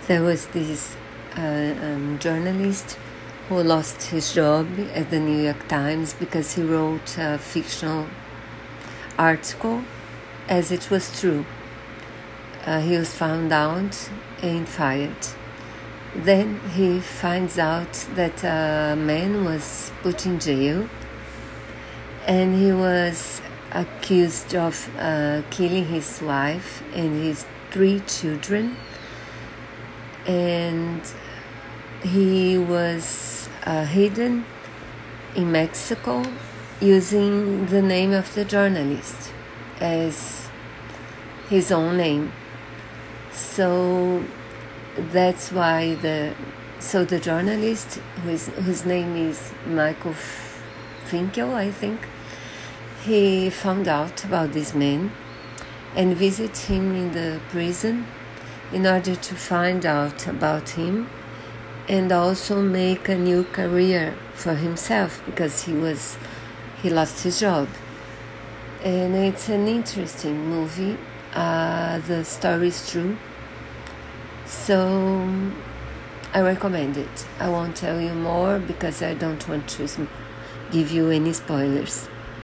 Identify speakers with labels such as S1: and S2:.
S1: There was this journalist who lost his job at the New York Times because he wrote a fictional article as it was true. He was found out and fired. Then he finds out that a man was put in jail and he was accused of killing his wife and his 3 children, and he was hidden in Mexico using the name of the journalist as his own name. So that's why the journalist, whose name is Michael Finkel, I think, he found out about this man and visited him in the prison in order to find out about him and also make a new career for himself because he lost his job. And it's an interesting movie. The story is true, so I recommend it. I won't tell you more because I don't want to give you any spoilers.